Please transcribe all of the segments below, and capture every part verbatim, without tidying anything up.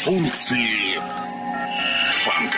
Функции фанка.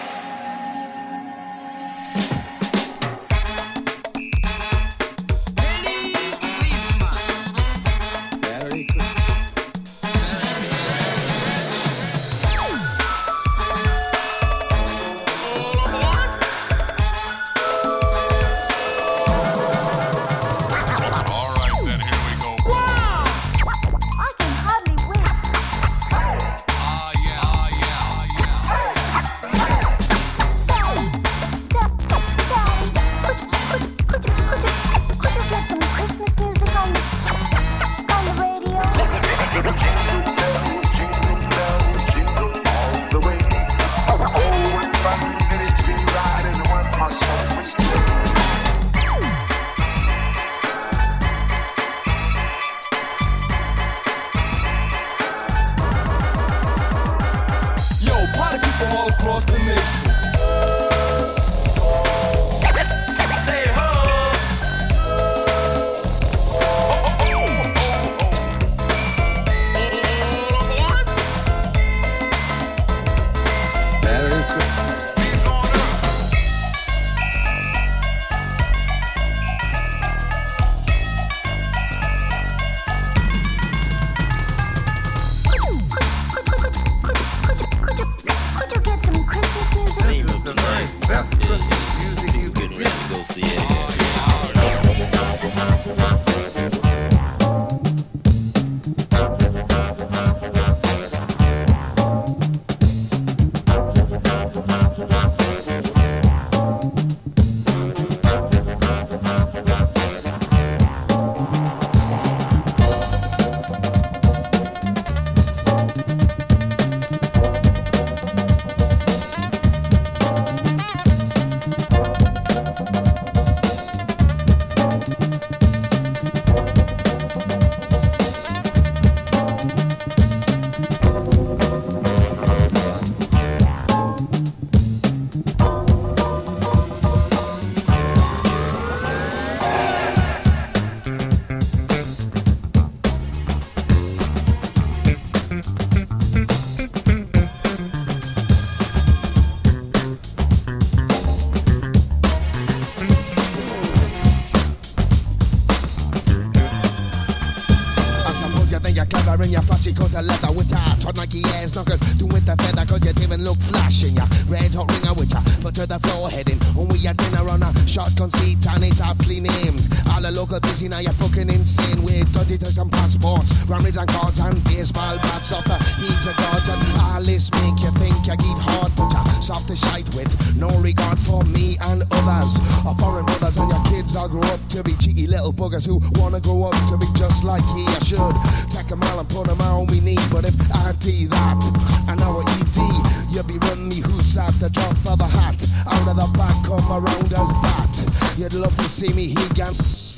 Cause I leather with ya Trot Nike ass knuckle Do with the feather cause you didn't look flashing ya Red hot ringer with ya Foot to the floor heading When we had dinner on a shotgun seat and it's aptly named All the local busy now you're fucking insane With dirty touch and passports Rammies and cards and baseball bats Off the heat of gods and all this make you think you get hard But ya soft as shite with no regard for me and others Our foreign brothers and your kids all grow up to be cheeky little buggers Who wanna grow up to be just like he I should Take them all and put them on we need But if I do that and our E D You'll be running me who's at the drop of a hat Out of the back come around us bat You'd love to see me he can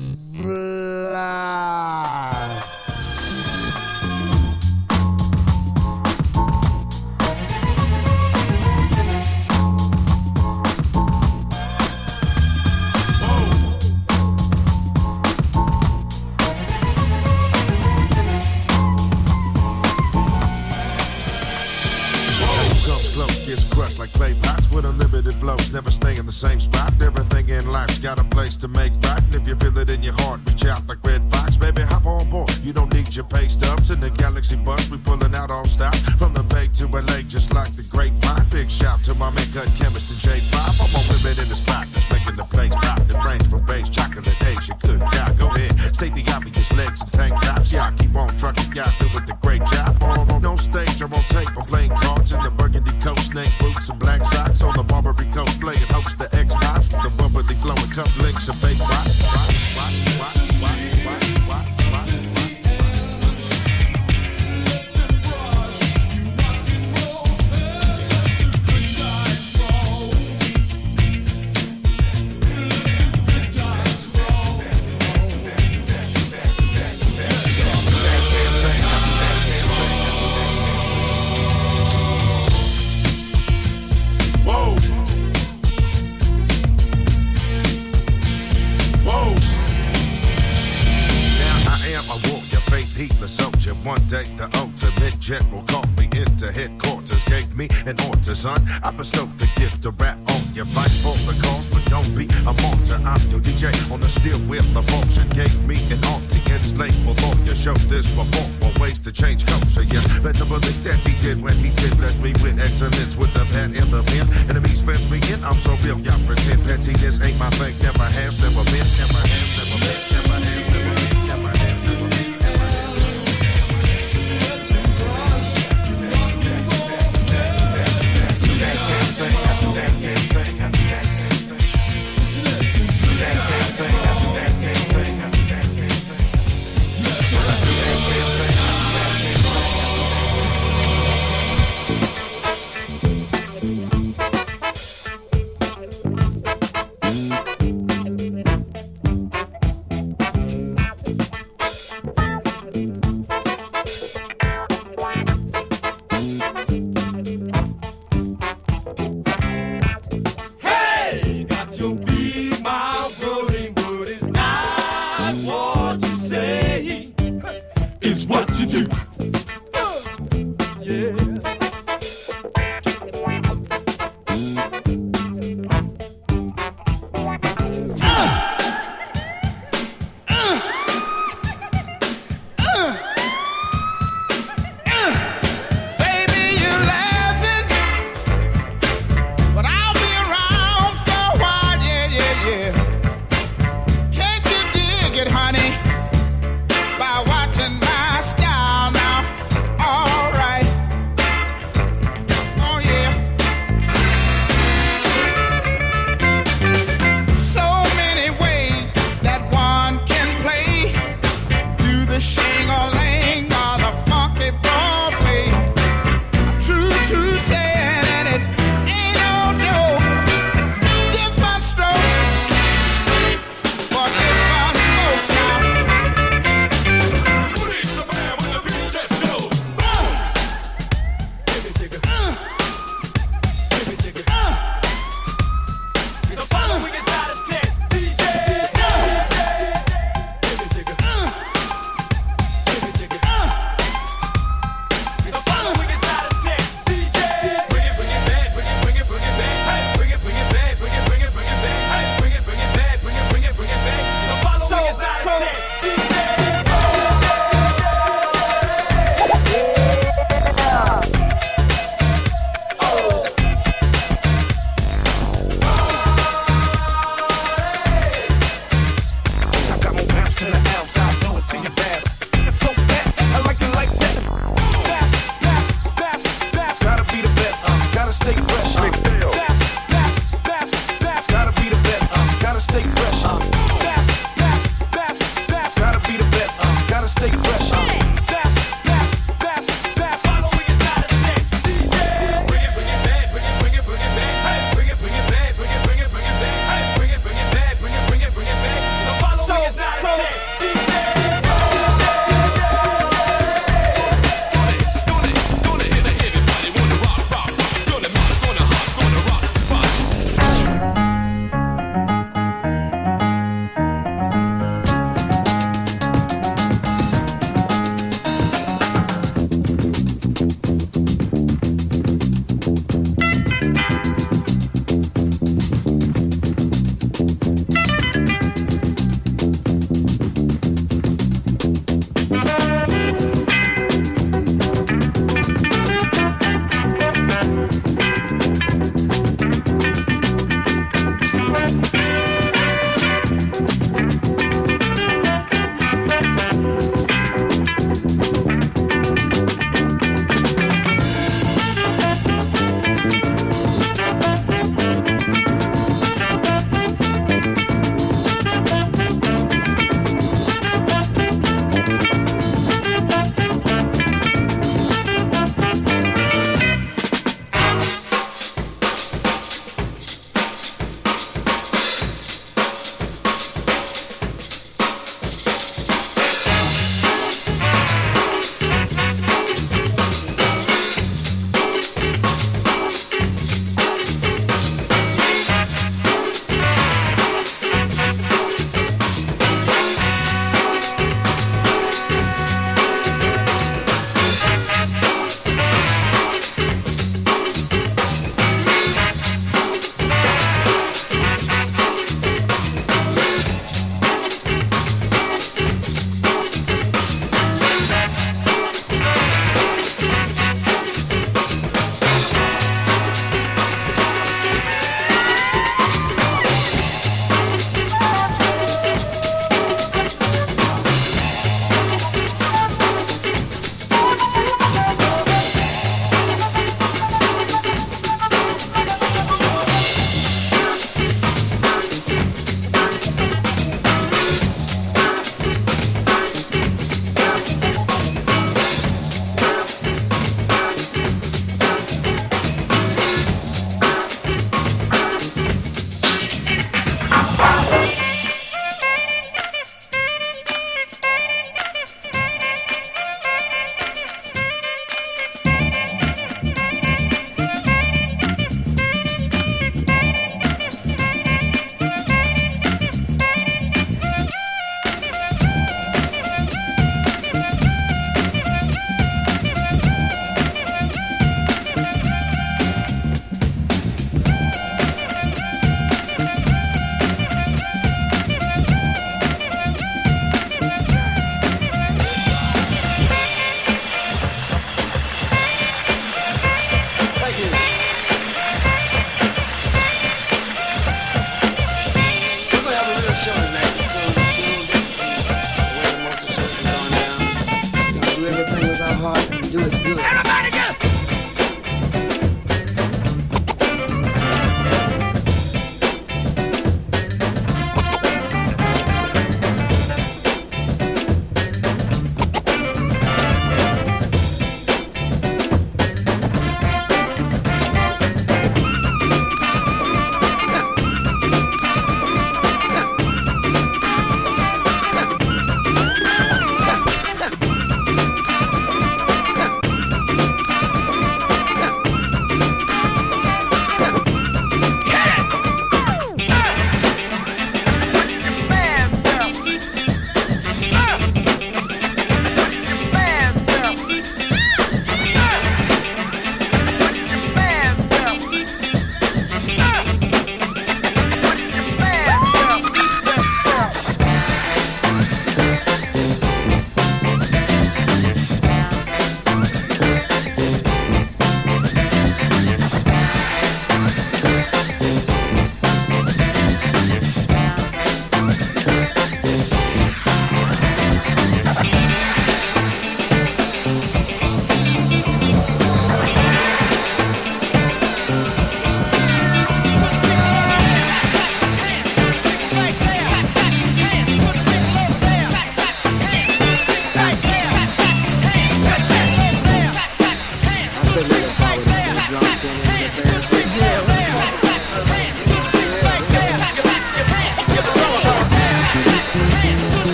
splat Flows, never stay in the same spot. Everything in life's got a place to make right. And if you feel it in your heart, reach out like Red Fox. Baby, hop on board. You don't need your pay stubs. In the Galaxy bus, we pulling out all stop. From the Bay to L A, just like the Great Pine. Big shout to my make-cut chemist and J five. I'm on women in the spot that's making the place pop. The range from base, chocolate Asia. Good God, go ahead. State the obvious, legs and tank tops. Yeah, I keep on trucking, y'all doing the great job. On, on, on stage, I'm on tape. I'm playing cards in the burgundy coat, snake boots and black socks. On the Barbary Coast, playing host the Xbox with the bubbly flowing cufflinks and fake rock. Rock, rock, rock, rock, rock, rock, rock, One day the ultimate jet will call me into headquarters. Gave me an order, son. I bestowed the gift to rap on your fight for the cause, but don't be a martyr. I'm your D J on the steel wheel of function. Gave me an auntie enslaved lawyer. Showed this before for ways to change culture. Yeah, better believe that he did when he did bless me with excellence with the pad and the pen. Enemies fence me in. I'm so real, y'all pretend pettiness ain't my thing. Never has, never been, never has, never been, never has, never been, never has, never been, never has.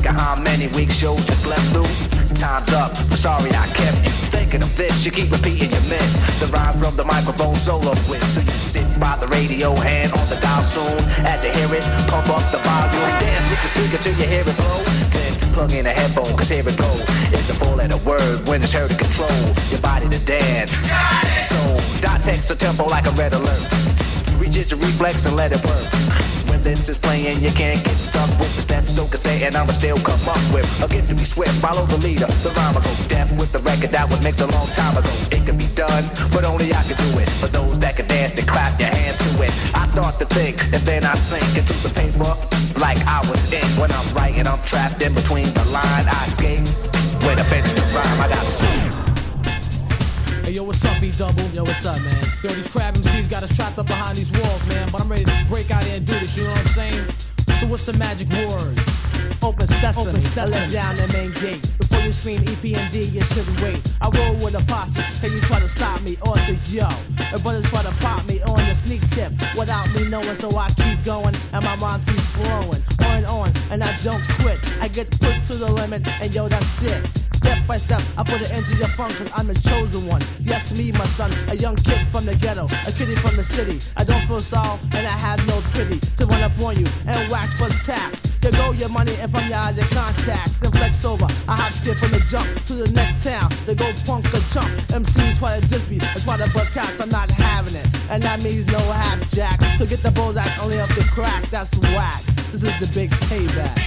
Wonder how many weeks shows you slept through. Time's up, I'm sorry I kept you thinking of this. You keep repeating your miss the rhyme from the microphone solo with. So you sit by the radio, hand on the dial soon. As you hear it, pump up the volume. Dance with the speaker till you hear it blow. Then plug in a headphone, cause here it go. It's a four-letter word when it's heard to control your body to dance. So, dot text a tempo like a red alert. Reach your reflex and let it work. When this is playing, you can't get stuck with the steps. So cassette and I'ma still come up with a gift to be swift. Follow the leader, the rhyme will go deaf with the record that was mixed a long time ago. It can be done, but only I can do it. For those that can dance and clap your hands to it. I start to think and then I sink into the paper like I was in. When I'm writing, I'm trapped in between the line. I escape when I finish the rhyme. I gotta sleep. Hey yo, what's up, B-Double? Yo, what's up, man? Yo, these crab M Cs got us trapped up behind these walls, man. But I'm ready to break out here and do this, you know what I'm saying? So what's the magic word? Open sesame, Open sesame. I let down the main gate. Before you scream E P M D, you shouldn't wait. I roll with a posse, hey, you try to stop me, or say yo. My brothers try to pop me on the sneak tip without me knowing, so I keep going, and my rhymes keep flowing. On and on, and I don't quit. I get pushed to the limit, and yo, that's it. Step by step, I put it into your funk, cause I'm the chosen one. Yes, me, my son, a young kid from the ghetto, a kiddie from the city. I don't feel sorrow, and I have no pity to run up on you and wax plus tax. You go your money and from your eyes and contacts. Then flex over, I hop, skip from the jump to the next town. They go punk or chump. M C try to diss me, I try to bust caps, I'm not having it. And that means no half jack. So get the Bozak only up the crack, that's whack. This is the big payback.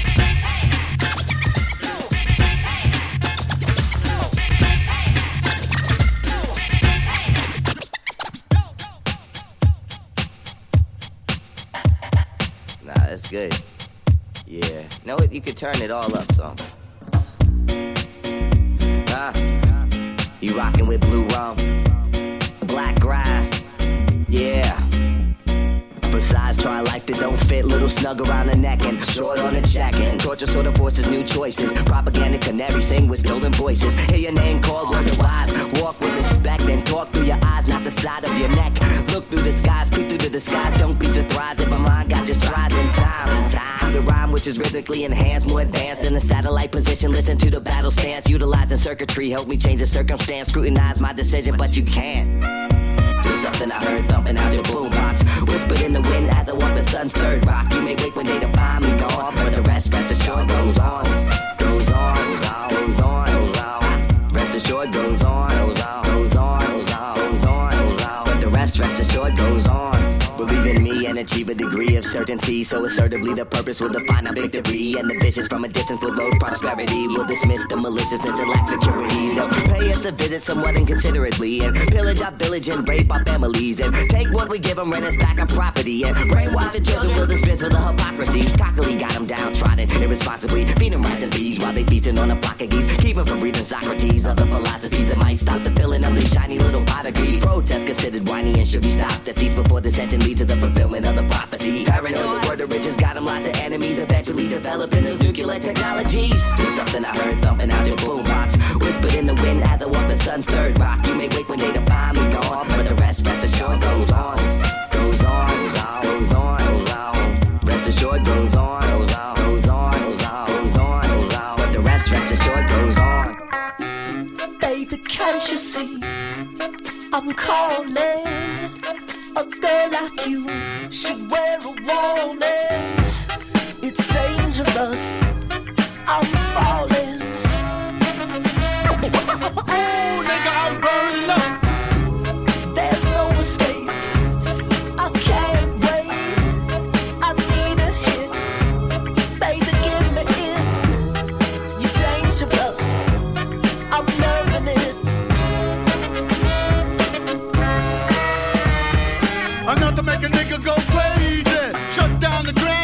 That's good. Yeah. Know what? You could turn it all up some. Ah. You rockin' with blue rum. Black grass. Yeah. Besides, try life that don't fit. Little snug around the neck and short on the jacket. Torture sort of forces new choices. Propaganda canary sing with stolen voices. Hear your name called, wonder wise. Walk with respect and talk through your eyes, not the side of your neck. Look through the skies, peek through the disguise. Don't be surprised if my mind got you strides in time. Time. The rhyme which is rhythmically enhanced, more advanced than the satellite position. Listen to the battle stance, utilizing circuitry. Help me change the circumstance. Scrutinize my decision, but you can't. Do something I heard thumping out your boombox. Whispered in the wind as I walk the sun's third rock. You may wake one day to find me gone, but the rest, rest assured, goes on. Goes on, goes on, goes on, goes on. Rest assured, goes on, goes on, goes on, goes on, goes on, goes on. But the rest, rest assured, goes on. Believe in me and achieve a degree of certainty. So assertively the purpose will define our victory. And the vicious from a distance will load prosperity. Will dismiss the maliciousness and lack security. They'll pay us a visit somewhat inconsiderately. And pillage our village and rape our families. And take what we give them, rent us back our property. And brainwash the children will dismiss for the hypocrisy. Cockily got them downtrodden irresponsibly. Feed them rice and peas while they feasting on a flock of geese. Keep them from breathing Socrates. Other philosophies that might stop the filling of these shiny little prodigies. Protest considered whiny and should be stopped. To cease before the sentence leads to the fulfillment of the prophecy. Paranoid, the word of riches got them lots of enemies. Eventually developing those nuclear technologies. Do something I heard thumping out your boombox. Whispered in the wind as I walk the sun's third rock. You may wake one day to find me gone, but the rest, rest assured, goes on. Goes on, goes on, goes on, goes on. Rest assured, goes on, goes on, goes on, goes on, goes on, goes on. But the rest, rest assured, goes on. Baby, can't you see I'm calling? A girl like you should wear a warning. It's dangerous, I'm falling. Oh, nigga, I'm burning up. There's no escape, I can't wait. I need a hit, baby, give me it. You're dangerous, I'm loving it. Enough to make a nigga go crazy. Shut down the ground.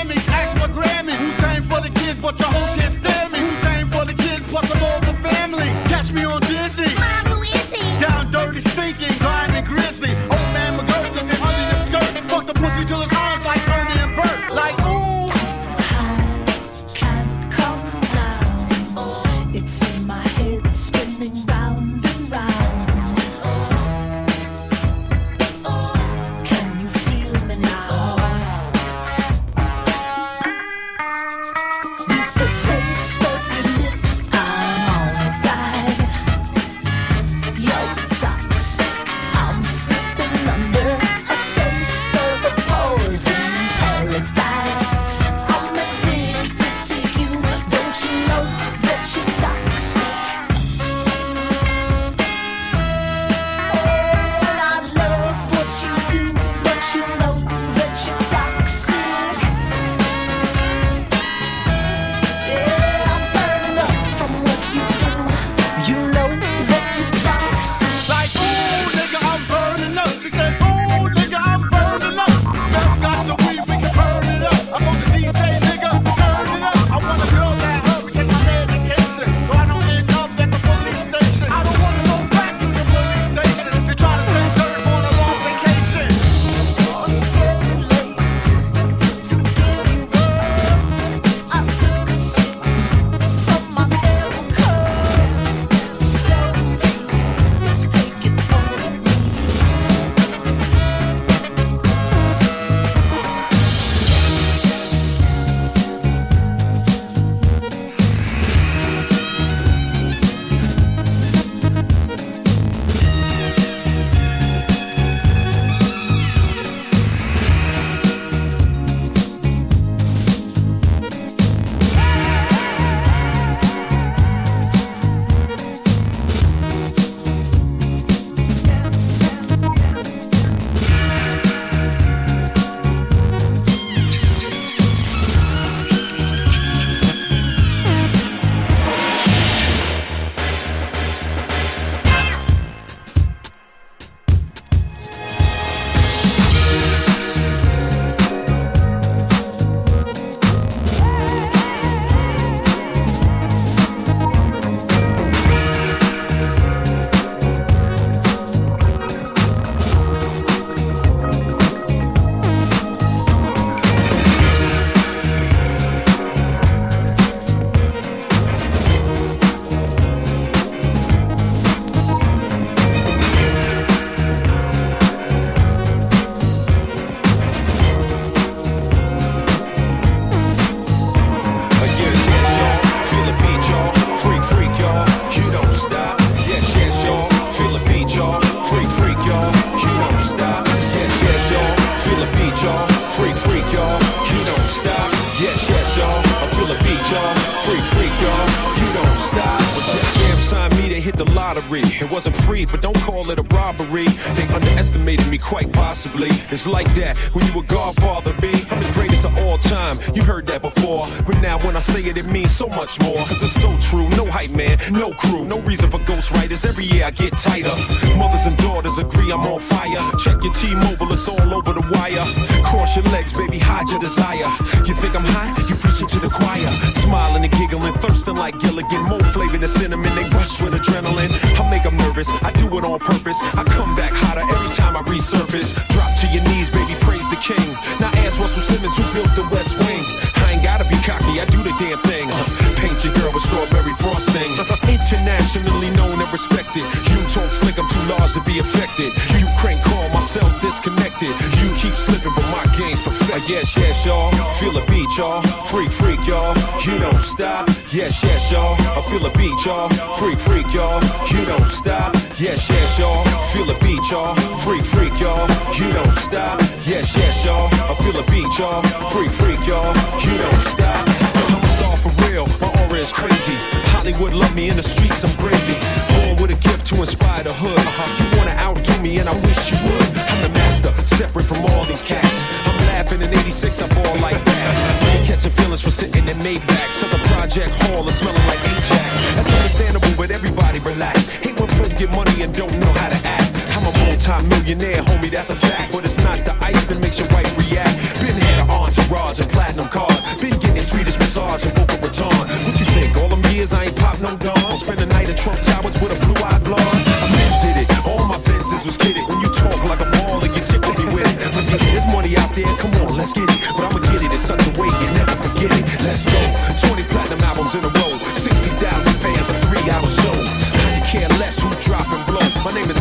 freak, y'all. You don't stop. When Def Jam signed me, they hit the lottery. It wasn't free, but don't call it a robbery. They underestimated me quite possibly. It's like that when you a Godfather, B. I'm the greatest of all time. You heard that before, but now when I say it, it means so much more. Cause it's so true. No hype man, no crew, no reason for ghostwriters. Every year I get tighter. Mothers and daughters agree I'm on fire. Check your T-Mobile, it's all over the wire. Cross your legs, baby, hide your desire. You think I'm high? You preach it to the choir. Smiling and giggling, thirsting like Gilligan. More flavor than cinnamon, they rush with adrenaline. I make them nervous, I do it on purpose. I come back hotter every time I resurface. Drop to your knees, baby, praise the king. Now ask Russell Simmons who built the West Wing. I ain't gotta be cocky, I do the damn thing. Uh, paint your girl with strawberry frosting. Internationally known and respected. You talk slick, I'm too large to be affected. You crank call, my cells disconnected. You keep slipping, but my game's perfect. Uh, yes, yes, y'all. Feel a beat, y'all. Freak, freak, y'all. You don't stop. Yes, yes, y'all. I feel a beat, y'all. Freak, freak, y'all. You don't stop. Yes, yes, y'all. Feel a beat, y'all. Freak, freak, y'all. You don't stop. Yes, yes, y'all. I feel a beat, y'all. Freak, freak, y'all. You don't stop. I'm a star for real. My aura is crazy. Hollywood love me in the streets. I'm gravy. Born with a gift to inspire the hood. Uh-huh. You wanna outdo me, and I wish you would. I'm the master, separate from all these cats. I'm laughing in eighty-six. I ball like that. I'm catching feelings for sitting in Maybachs. Cause a Project Hall is smelling like Ajax. That's understandable, but everybody relax. Hate when folk get money and don't know how to act. I'm a multi-millionaire, homie, that's a fact. But it's not the ice that makes your wife react. Been had an entourage and platinum card. Been getting Swedish massage and Boca Raton. What you think, all them years I ain't pop no dawn? Spend a night at Trump Towers with a blue-eyed blonde. I mean, did it, all my Benzes was kidding. When you talk like a ball and you tickle me with it. But yeah, there's money out there, come on, let's get it. But I'ma get it in such a way you never forget it. Let's go, twenty platinum albums in a row. sixty thousand fans, a three-hour show. I can care less who drop and blow. My name is